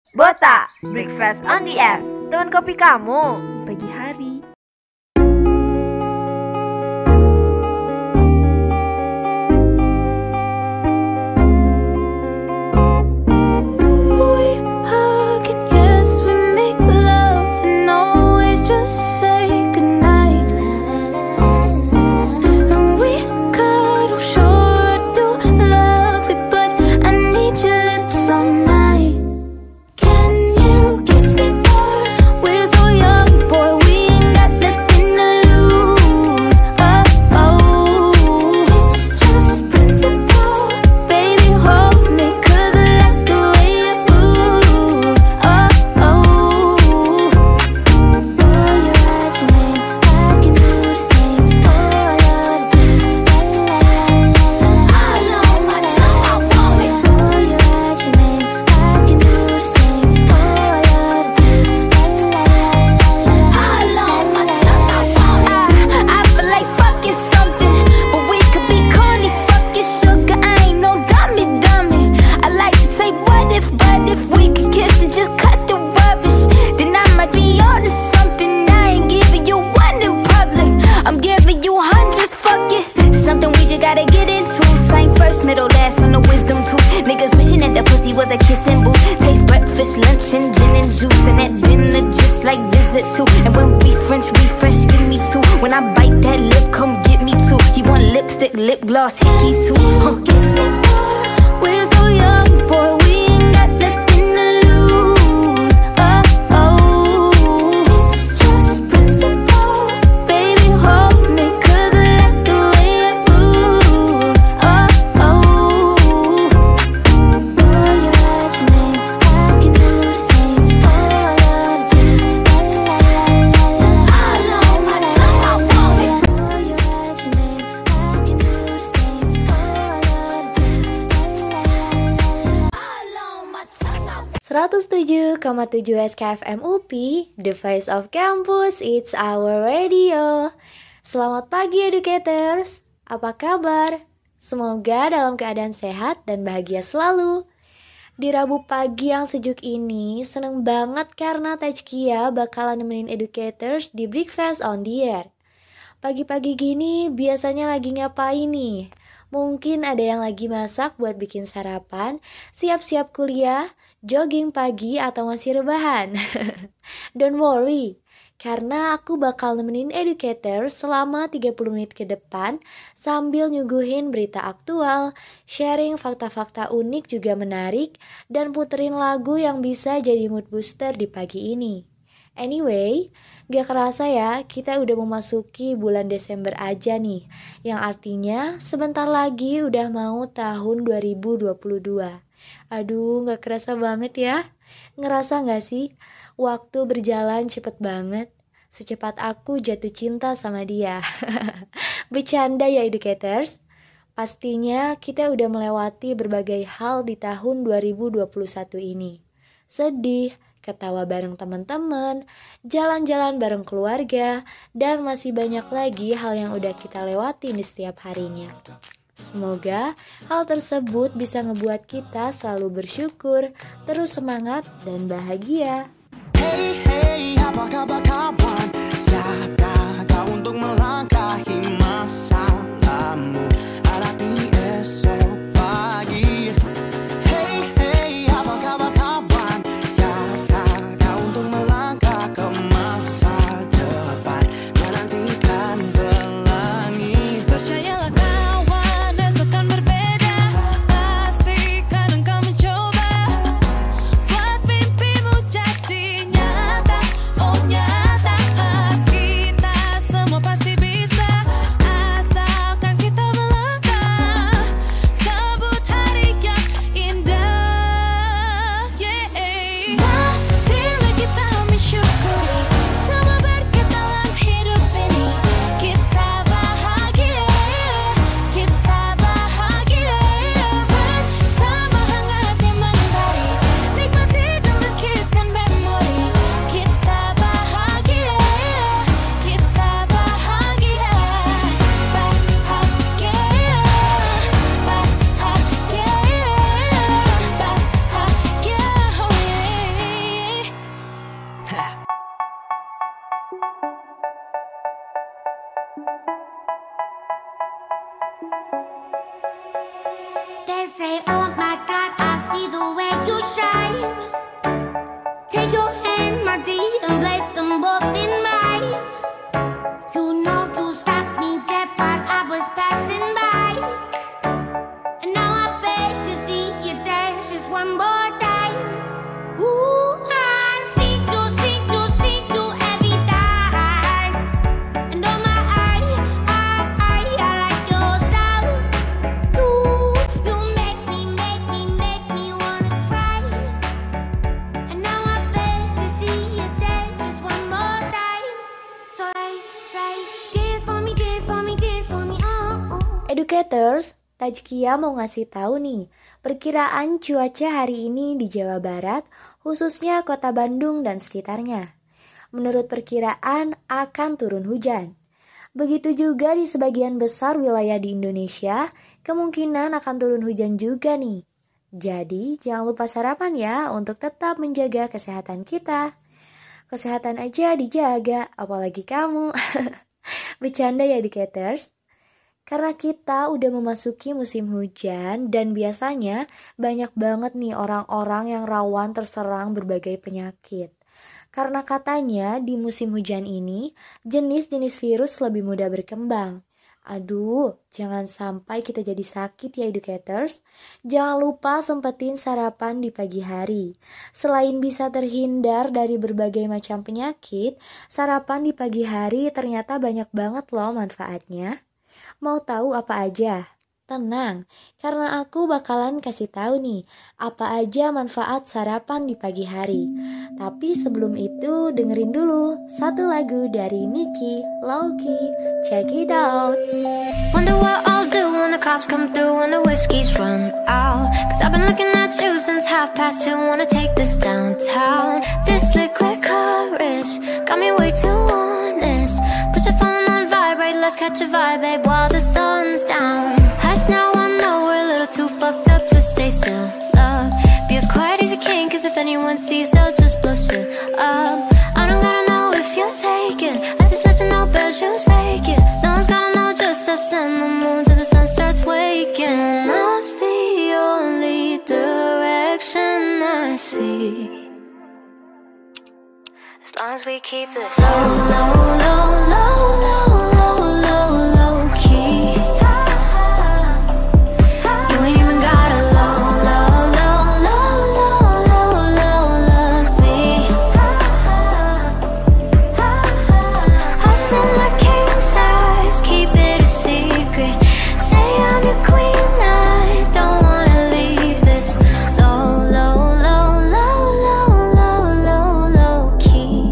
Bota, Breakfast on the Air. Teman kopi kamu di pagi hari. Lip gloss, hickeys too. Kiss me more. We're so young, boy. We ain't got nothing to lose. Oh, oh. It's just principle. Baby, hold me, 'cause I like the way it moves. Oh, oh. Oh, you write your name, I can do the same. Oh, I love the taste. La, la, la, la, la, la. All on my tongue, I want it. Oh, you write your name. 107,7 SKFM UPI, The Voice of Campus, it's our radio. Selamat pagi educators, apa kabar? Semoga dalam keadaan sehat dan bahagia selalu. Di Rabu pagi yang sejuk ini, seneng banget karena Tajkia bakalan nemenin educators di Breakfast on the Air. Pagi-pagi gini biasanya lagi ngapain nih? Mungkin ada yang lagi masak buat bikin sarapan, siap-siap kuliah, jogging pagi, atau masih rebahan. Don't worry, karena aku bakal nemenin educator selama 30 menit ke depan sambil nyuguhin berita aktual, sharing fakta-fakta unik juga menarik, dan puterin lagu yang bisa jadi mood booster di pagi ini. Anyway, gak kerasa ya, kita udah memasuki bulan Desember aja nih, yang artinya sebentar lagi udah mau tahun 2022. Aduh, gak kerasa banget ya. Ngerasa gak sih, waktu berjalan cepet banget, secepat aku jatuh cinta sama dia. Bercanda ya educators. Pastinya kita udah melewati berbagai hal di tahun 2021 ini. Sedih, ketawa bareng teman-teman, jalan-jalan bareng keluarga, dan masih banyak lagi hal yang udah kita lewati di setiap harinya. Semoga hal tersebut bisa ngebuat kita selalu bersyukur, terus semangat dan bahagia. Hey hey, apa kabar kawan? Siapkah kau untuk melangkahi masalahmu? Hadapi esok pagi. Hey hey, apa kabar kawan? Siapkah kau untuk melangkah ke masa depan, menantikan pelangi? Percayalah kawan, esok kan berbeda. Pastikan engkau mencoba buat mimpimu jadi nyata. Oh nyata, kita semua pasti bisa, asalkan kita Educators, Tajkia mau ngasih tahu nih, perkiraan cuaca hari ini di Jawa Barat, khususnya kota Bandung dan sekitarnya. Menurut perkiraan akan turun hujan. Begitu juga di sebagian besar wilayah di Indonesia, kemungkinan akan turun hujan juga nih. Jadi jangan lupa sarapan ya untuk tetap menjaga kesehatan kita. Kesehatan aja dijaga, apalagi kamu. Bercanda ya educators. Karena kita udah memasuki musim hujan dan biasanya banyak banget nih orang-orang yang rawan terserang berbagai penyakit. Karena katanya di musim hujan ini jenis-jenis virus lebih mudah berkembang. Aduh, jangan sampai kita jadi sakit ya educators. Jangan lupa sempetin sarapan di pagi hari. Selain bisa terhindar dari berbagai macam penyakit, sarapan di pagi hari ternyata banyak banget loh manfaatnya. Mau tahu apa aja? Tenang, karena aku bakalan kasih tahu nih apa aja manfaat sarapan di pagi hari. Tapi sebelum itu dengerin dulu satu lagu dari Nicky, Low-Key. Check it out. Wonder what I'll do when the cops come through and the whiskey's run out. Cause I've been looking at you since 2:30. Wanna take this downtown. This liquid courage got me way too honest. Put your phone on vibrate, let's catch a vibe, babe, while the sun's down. Hush now, I know we're a little too fucked up to stay still. Love, be as quiet as you can, cause if anyone sees, they'll just blow shit up. I don't gotta know if you're taken, I just let you know, bad shoes faking. No one's gotta know, just us and the moon till the sun starts waking. Love's the only direction I see. As long as we keep this low, low, low, low, low, low, low, low key. You ain't even gotta low, low, low, low, low, low, low, love me. I said my king size, keep it a secret. Say I'm your queen, I don't wanna leave this low, low, low, low, low, low, low, low key.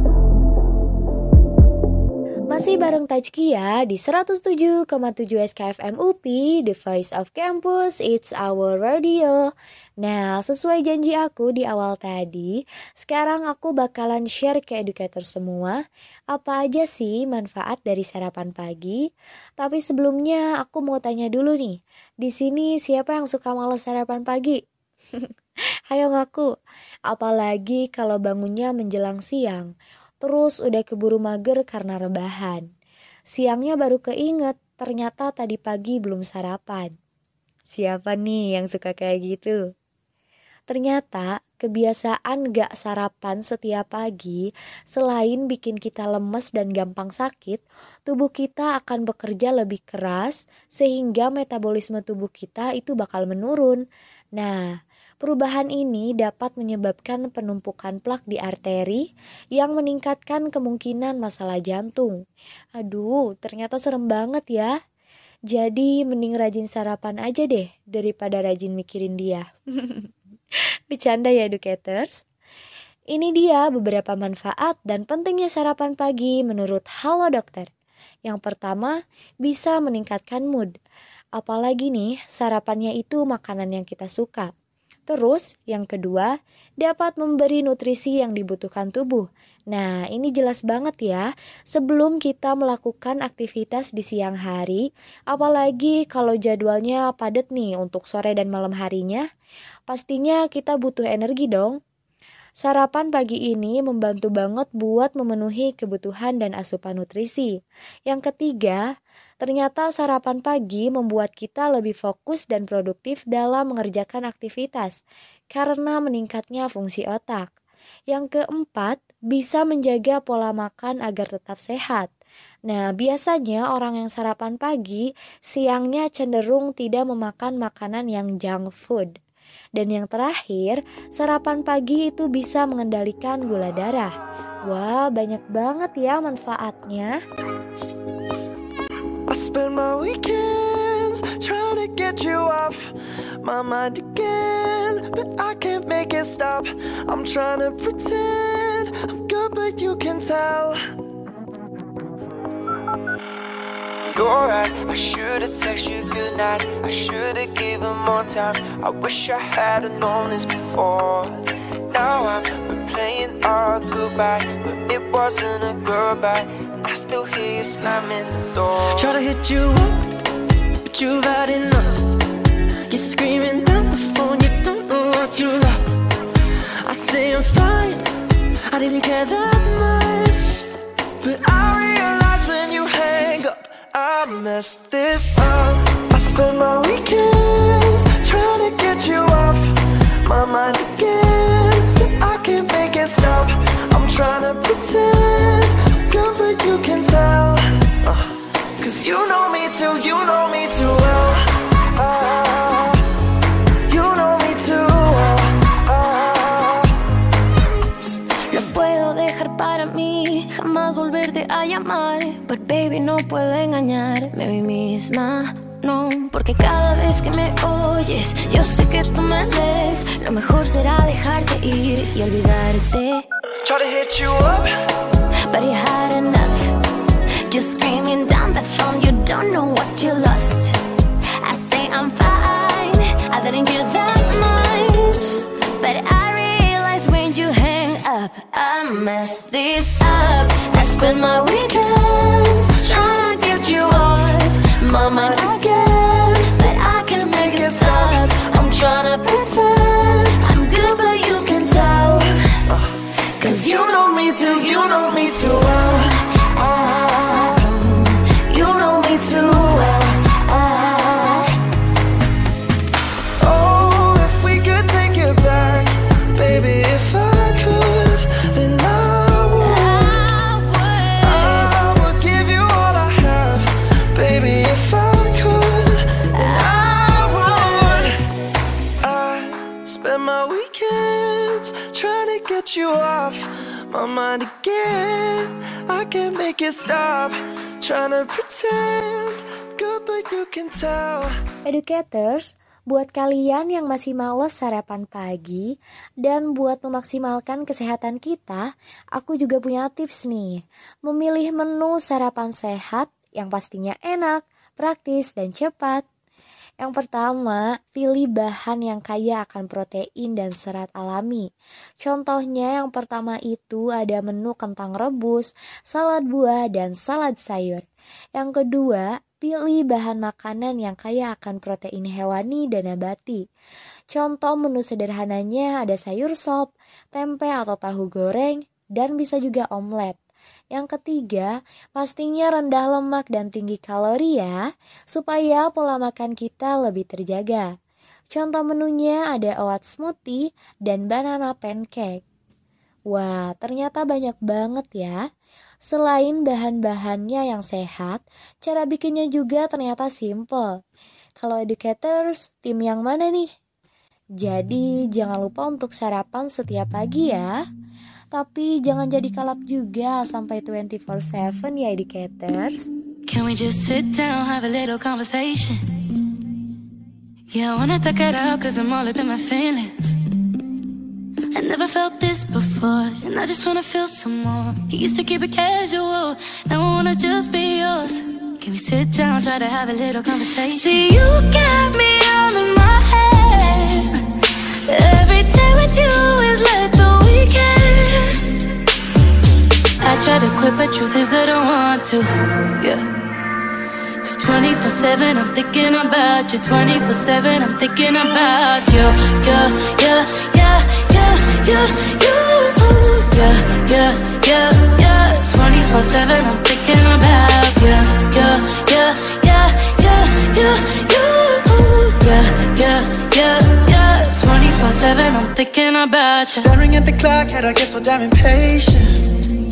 Masih bareng Tajkia di 107,7 SKFM UPI, The Voice of Campus, It's Our Radio. Nah, sesuai janji aku di awal tadi, sekarang aku bakalan share ke educator semua apa aja sih manfaat dari sarapan pagi. Tapi sebelumnya aku mau tanya dulu nih, di sini siapa yang suka malas sarapan pagi? Ayo ngaku, apalagi kalau bangunnya menjelang siang. Terus udah keburu mager karena rebahan. Siangnya baru keinget, ternyata tadi pagi belum sarapan. Siapa nih yang suka kayak gitu? Ternyata kebiasaan gak sarapan setiap pagi, selain bikin kita lemes dan gampang sakit, tubuh kita akan bekerja lebih keras sehingga metabolisme tubuh kita itu bakal menurun. Nah, perubahan ini dapat menyebabkan penumpukan plak di arteri yang meningkatkan kemungkinan masalah jantung. Aduh, ternyata serem banget ya. Jadi mending rajin sarapan aja deh daripada rajin mikirin dia. Bercanda ya educators. Ini dia beberapa manfaat dan pentingnya sarapan pagi menurut Halo Dokter. Yang pertama, bisa meningkatkan mood. Apalagi nih, sarapannya itu makanan yang kita suka. Terus, yang kedua, dapat memberi nutrisi yang dibutuhkan tubuh. Nah, ini jelas banget ya, sebelum kita melakukan aktivitas di siang hari, apalagi kalau jadwalnya padat nih untuk sore dan malam harinya, pastinya kita butuh energi dong. Sarapan pagi ini membantu banget buat memenuhi kebutuhan dan asupan nutrisi. Yang ketiga, ternyata sarapan pagi membuat kita lebih fokus dan produktif dalam mengerjakan aktivitas karena meningkatnya fungsi otak. Yang keempat, bisa menjaga pola makan agar tetap sehat. Nah, biasanya orang yang sarapan pagi, siangnya cenderung tidak memakan makanan yang junk food. Dan yang terakhir, sarapan pagi itu bisa mengendalikan gula darah. Wah, banyak banget ya manfaatnya. I spend my weekends trying to get you off my mind again, but I can't make it stop. I'm trying to pretend I'm good, but you can tell you're right, I should've texted you goodnight. I should've given more time. I wish I had've known this before. Now I'm replaying our goodbye, but it wasn't a goodbye. I still hear you slamming the door. Try to hit you up, but you've had enough. You're screaming down the phone, you don't know what you lost. I say I'm fine, I didn't care that much, but I realize when you hang up, I messed this up. I spend my weekends trying to get you off my mind again, but I can't make it stop. I'm trying to pretend I'm good, but you can tell, 'cause you know me too well. You know me too well. No puedo dejar para mí jamás volverte a llamar, but baby no puedo engañarme a mí misma. No, porque cada vez que me oyes, yo sé que tú me ves. Lo mejor será dejarte ir y olvidarte. Try to hit you up, but you had enough. Just screaming down the phone, you don't know what you lost. I say I'm fine, I didn't care that much, but I realize when you hang up, I messed this up. I spend my weekends trying to get you off my mind again, but I can't make it stop. I'm trying to pretend I'm good, but you can tell, 'cause you know me too well. You know me too well. Oh, if we could take it back, baby, if I could, then I would give you all I have, baby, if I could, then I would. I spend my weekends trying to get you off my mind again. I can't make it stop, trying to pretend good, but you can tell. Educators, buat kalian yang masih malas sarapan pagi dan buat memaksimalkan kesehatan kita, aku juga punya tips nih. Memilih menu sarapan sehat yang pastinya enak, praktis, dan cepat. Yang pertama, pilih bahan yang kaya akan protein dan serat alami. Contohnya yang pertama itu ada menu kentang rebus, salad buah, dan salad sayur. Yang kedua, pilih bahan makanan yang kaya akan protein hewani dan nabati. Contoh menu sederhananya ada sayur sop, tempe atau tahu goreng, dan bisa juga omelet. Yang ketiga, pastinya rendah lemak dan tinggi kalori ya, supaya pola makan kita lebih terjaga. Contoh menunya ada oat smoothie dan banana pancake. Wah, ternyata banyak banget ya. Selain bahan-bahannya yang sehat, cara bikinnya juga ternyata simple. Kalau educators, tim yang mana nih? Jadi jangan lupa untuk sarapan setiap pagi ya. Tapi jangan jadi kalap juga sampai 24/7 ya educators. Can we just sit down, have a little conversation? Yeah, I wanna talk it out 'cause I'm all up in my feelings. I never felt this before, and I just wanna feel some more. You used to keep it casual, now I wanna just be yours. Can we sit down, try to have a little conversation? See, you got me all in my head. Every day with you is like the weekend. I try to quit, but truth is I don't want to. Yeah. 'Cause 24/7 I'm thinking about you. 24/7 I'm thinking about you. Yeah, yeah, yeah, yeah, yeah, yeah, yeah, yeah, yeah. 24/7 I'm thinking about you. Yeah, yeah, yeah, yeah, yeah, yeah, yeah, yeah, yeah. 24/7 I'm thinking about you. Staring at the clock, and I get so damn impatient.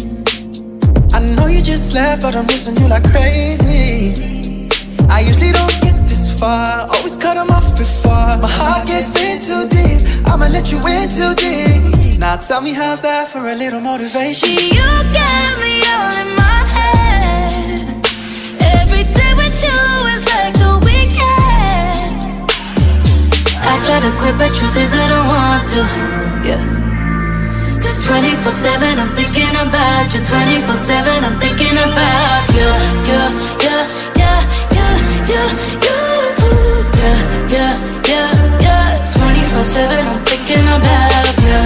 I know you just left, but I'm missing you like crazy. I usually don't get this far, always cut them off before my heart gets in too deep. I'ma let you in too deep. Now tell me, how's that for a little motivation? See, you got me all in my head. Every day with you is like the weekend. I try to quit, but truth is I don't want to. Yeah. 'Cause 24/7 I'm thinking about you. 24/7 I'm thinking about you. Yeah, yeah, yeah, 24/7 I'm thinking about you.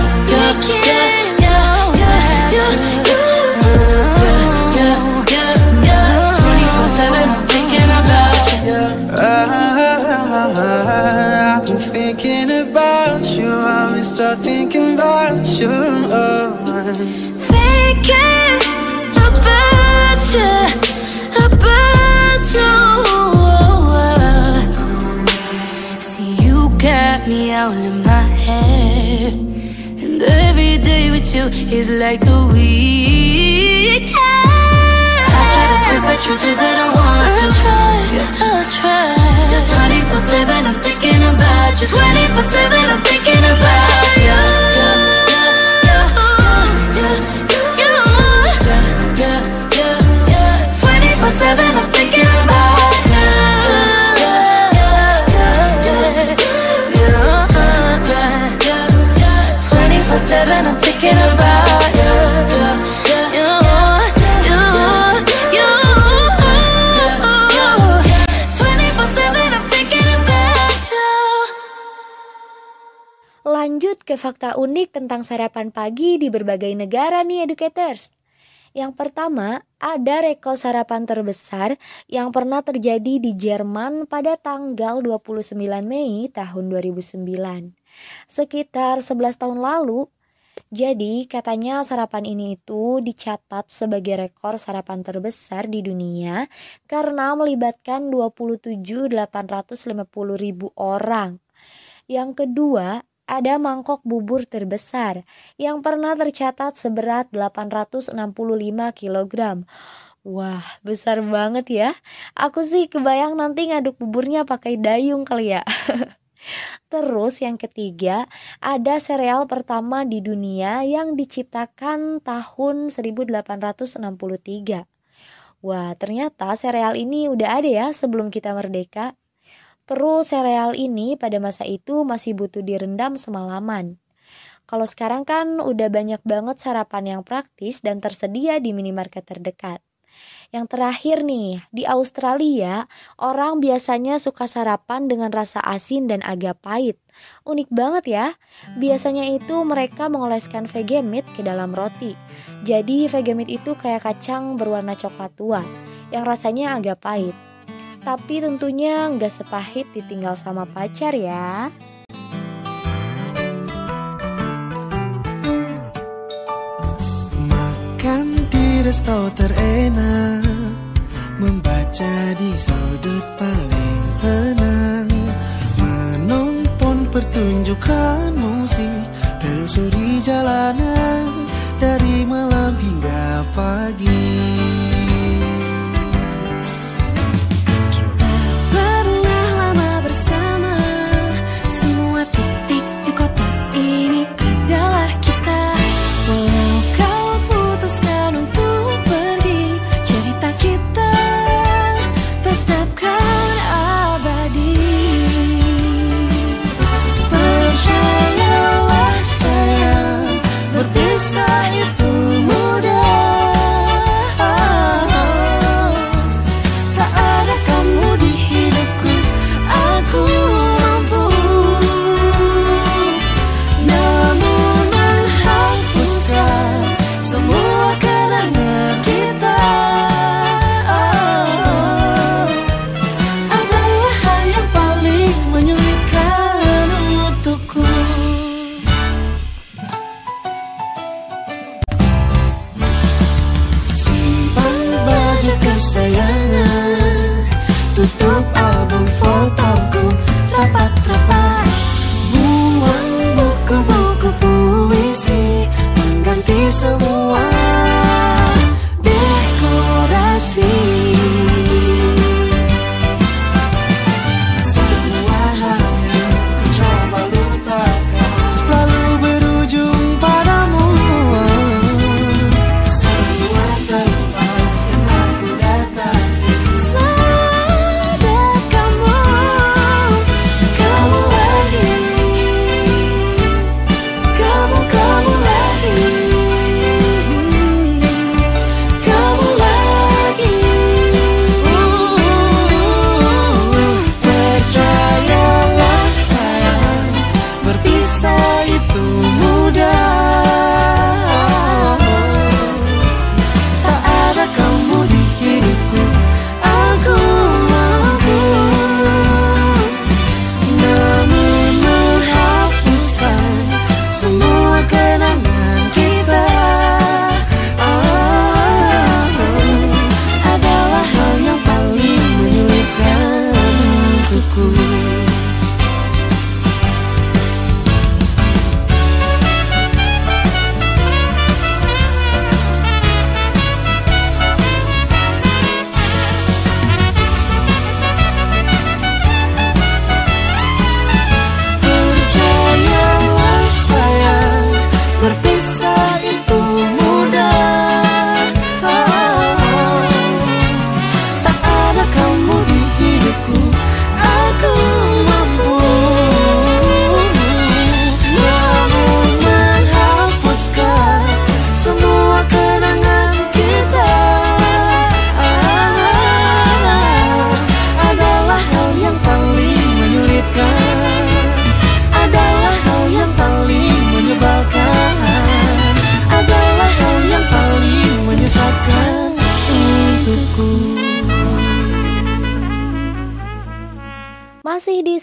24/7 I'm thinking about you. I've been thinking about you. I've been start thinking about you. Thinking about you, about you. See, you got me all in my head, and every day with you is like the weekend. I try to quit, but truth is I don't want to. I'll try. Just 24/7 I'm thinking about you. 24/7 I'm thinking about you. 24/7 I'm thinking about you. 24/7 I'm thinking about you. 24/7 I'm thinking about you. Lanjut ke fakta unik tentang sarapan pagi di berbagai negara nih educators. Yang pertama, ada rekor sarapan terbesar yang pernah terjadi di Jerman pada tanggal 29 Mei tahun 2009. Sekitar 11 tahun lalu. Jadi katanya sarapan ini itu dicatat sebagai rekor sarapan terbesar di dunia karena melibatkan 27.850.000 orang. Yang kedua, ada mangkok bubur terbesar yang pernah tercatat seberat 865 kg. Wah, besar banget ya. Aku sih kebayang nanti ngaduk buburnya pakai dayung kali ya. Terus yang ketiga, ada sereal pertama di dunia yang diciptakan tahun 1863. Wah, ternyata sereal ini udah ada ya sebelum kita merdeka. Terus sereal ini pada masa itu masih butuh direndam semalaman. Kalau sekarang kan udah banyak banget sarapan yang praktis dan tersedia di minimarket terdekat. Yang terakhir nih, di Australia orang biasanya suka sarapan dengan rasa asin dan agak pahit. Unik banget ya. Biasanya itu mereka mengoleskan Vegemite ke dalam roti. Jadi Vegemite itu kayak kacang berwarna coklat tua yang rasanya agak pahit. Tapi tentunya nggak sepahit ditinggal sama pacar ya. Makan di resto terenak, membaca di sudut paling tenang, menonton pertunjukan musik, telusuri jalanan dari malam hingga pagi. Berpisah itu mudah.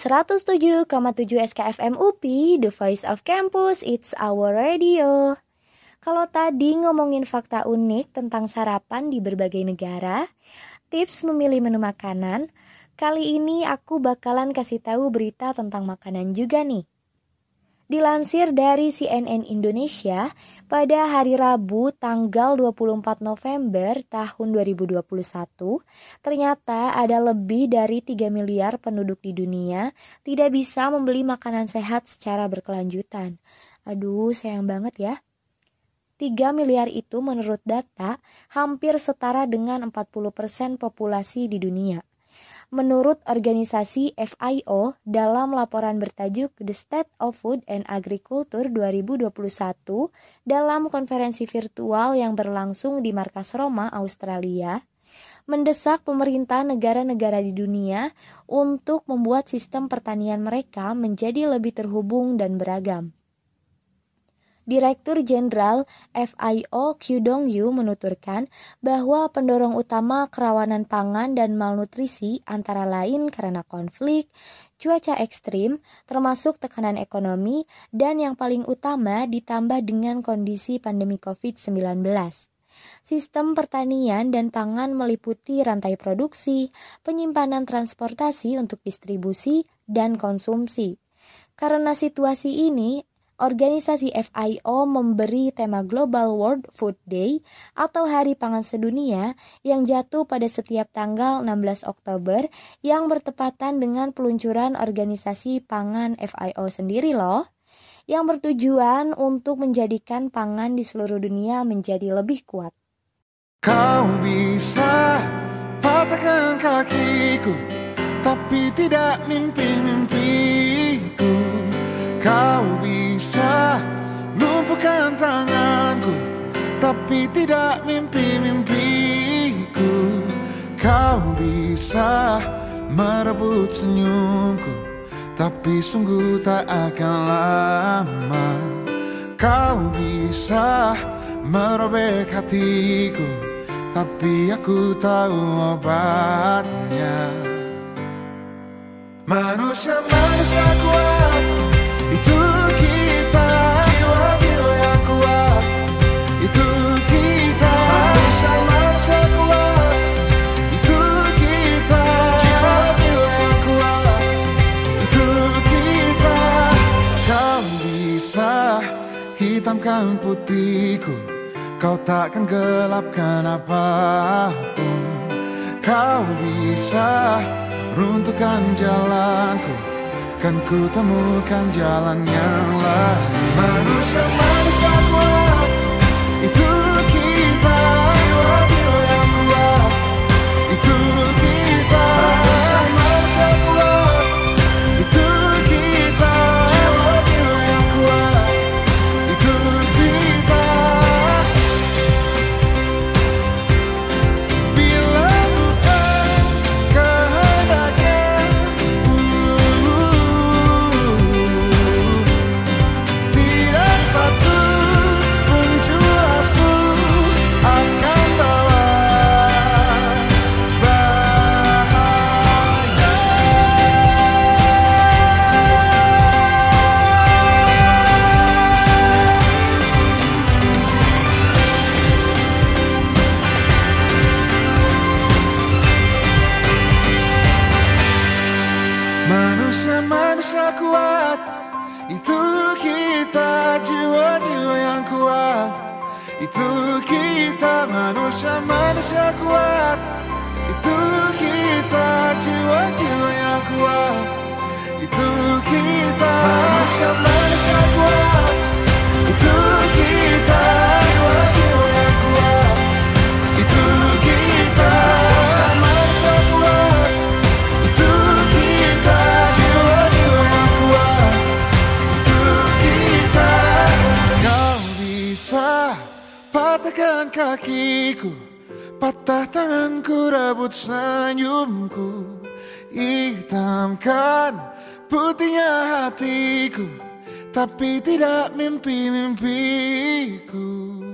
107,7 SKFM UPI, The Voice of Campus, It's Our Radio. Kalau tadi ngomongin fakta unik tentang sarapan di berbagai negara, tips memilih menu makanan, kali ini aku bakalan kasih tahu berita tentang makanan juga nih. Dilansir dari CNN Indonesia, pada hari Rabu tanggal 24 November tahun 2021, ternyata ada lebih dari 3 miliar penduduk di dunia tidak bisa membeli makanan sehat secara berkelanjutan. Aduh, sayang banget ya. 3 miliar itu menurut data hampir setara dengan 40% populasi di dunia. Menurut organisasi FAO, dalam laporan bertajuk The State of Food and Agriculture 2021 dalam konferensi virtual yang berlangsung di markas Roma, Australia, mendesak pemerintah negara-negara di dunia untuk membuat sistem pertanian mereka menjadi lebih terhubung dan beragam. Direktur Jenderal FAO Q Dong Yu menuturkan bahwa pendorong utama kerawanan pangan dan malnutrisi antara lain karena konflik, cuaca ekstrim, termasuk tekanan ekonomi, dan yang paling utama ditambah dengan kondisi pandemi COVID-19. Sistem pertanian dan pangan meliputi rantai produksi, penyimpanan transportasi untuk distribusi, dan konsumsi. Karena situasi ini, organisasi FAO memberi tema Global World Food Day atau Hari Pangan Sedunia yang jatuh pada setiap tanggal 16 Oktober yang bertepatan dengan peluncuran organisasi pangan FAO sendiri loh, yang bertujuan untuk menjadikan pangan di seluruh dunia menjadi lebih kuat. Kau bisa patahkan kakiku, tapi tidak mimpi-mimpiku. Kau bisa lumpuhkan tanganku, tapi tidak mimpi-mimpiku. Kau bisa merebut senyumku, tapi sungguh tak akan lama. Kau bisa merobek hatiku, tapi aku tahu obatnya. Manusia-manusia kuat, itu kita. Jiwa-jiwa yang kuat, itu kita. Manusia-manusia kuat, itu kita. Jiwa-jiwa yang kuat, itu kita. Kau bisa hitamkan putihku, kau takkan gelapkan apapun. Kau bisa runtuhkan jalanku, kan ku temukan jalan yang lain. Manusia-manusia kuat, itu kita. Jiwa-jiwa yang kuat, itu kita. Manusia-manusia kuat, itu kita. Jiwa-jiwa yang kuat, itu kita. Bila bukan kehendaknya, tidak satu pun jelasmu akan bawa bahaya. Manusia-manusia kuat, itu kita. Jiwa-jiwa yang kuat, itu kita. Manusia-manusia kuat, itu kita. Jiwa-jiwa yang kuat, itu kita. Manusia-manusia kuat, itu kita. Jiwa-jiwa yang kuat, itu kita. Manusia-manusia kuat, itu kita. Jiwa-jiwa yang kuat, itu kita. Kau bisa patahkan kakiku, patah tanganku, rebut senyumku, hitamkan putihnya hatiku, tapi tidak mimpi-mimpiku.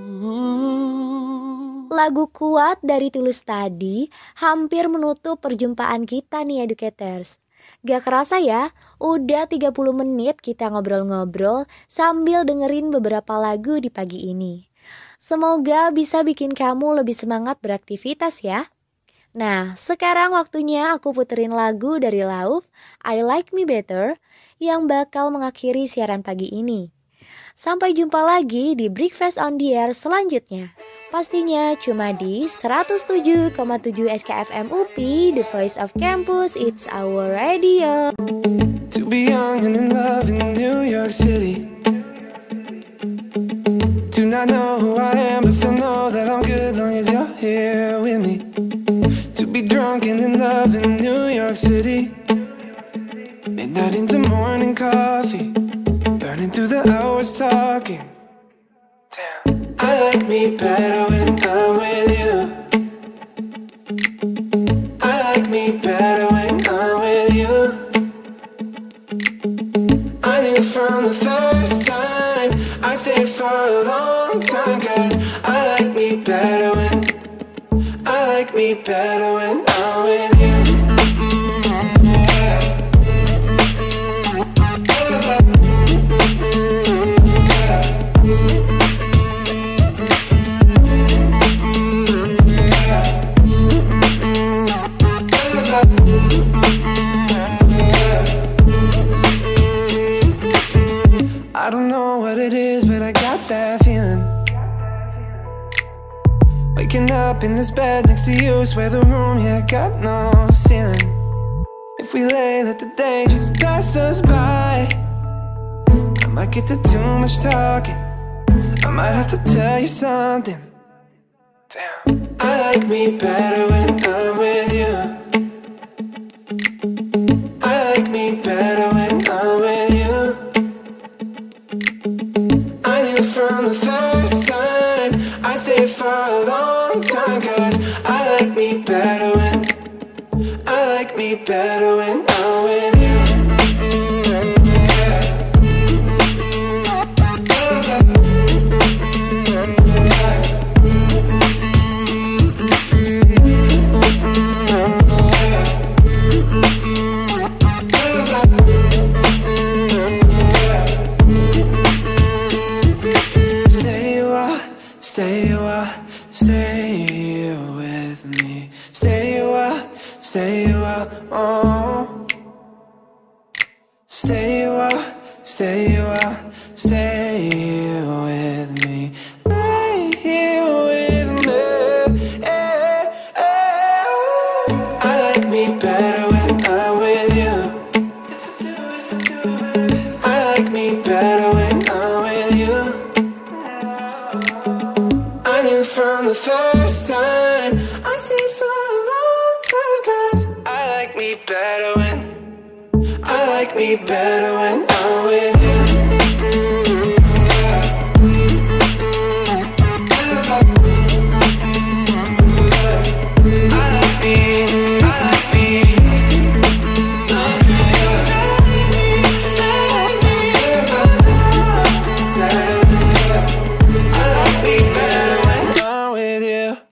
Lagu Kuat dari Tulus tadi hampir menutup perjumpaan kita nih educators. Gak kerasa ya, udah 30 menit kita ngobrol-ngobrol sambil dengerin beberapa lagu di pagi ini. Semoga bisa bikin kamu lebih semangat beraktivitas ya. Nah, sekarang waktunya aku puterin lagu dari Lauf, I Like Me Better, yang bakal mengakhiri siaran pagi ini. Sampai jumpa lagi di Breakfast on the Air selanjutnya. Pastinya cuma di 107,7 SKFM UPI, The Voice of Campus, it's our radio. To be young and in love in New York City. Do not know who I am, but still know that I'm good long as you're here with me. To be drunk and in love in New York City. Midnight into morning coffee, burning through the hours talking. Damn. I like me better when I'm with you. I like me better when I'm with you. I knew from the first time I'd stay for a long time, 'cause I like me better when I'm with you. I don't know what it is, but I got that feeling. Waking up in this bed next to you, swear the room, yeah, got no ceiling. If we lay, let the day just pass us by. I might get to too much talking, I might have to tell you something. Damn. I like me better when I'm with you. I like me better when I'm with you. I knew from the first time I'd stay for a long time, 'cause I like me better when I'm with you. Stay with me. Stay a while, oh. Stay a while, stay with me. Lay here with me. I like me better when I'm with you. I like me better when I'm with you. I knew from the first time I stayed for a long time, 'cause I like me better when I'm with you.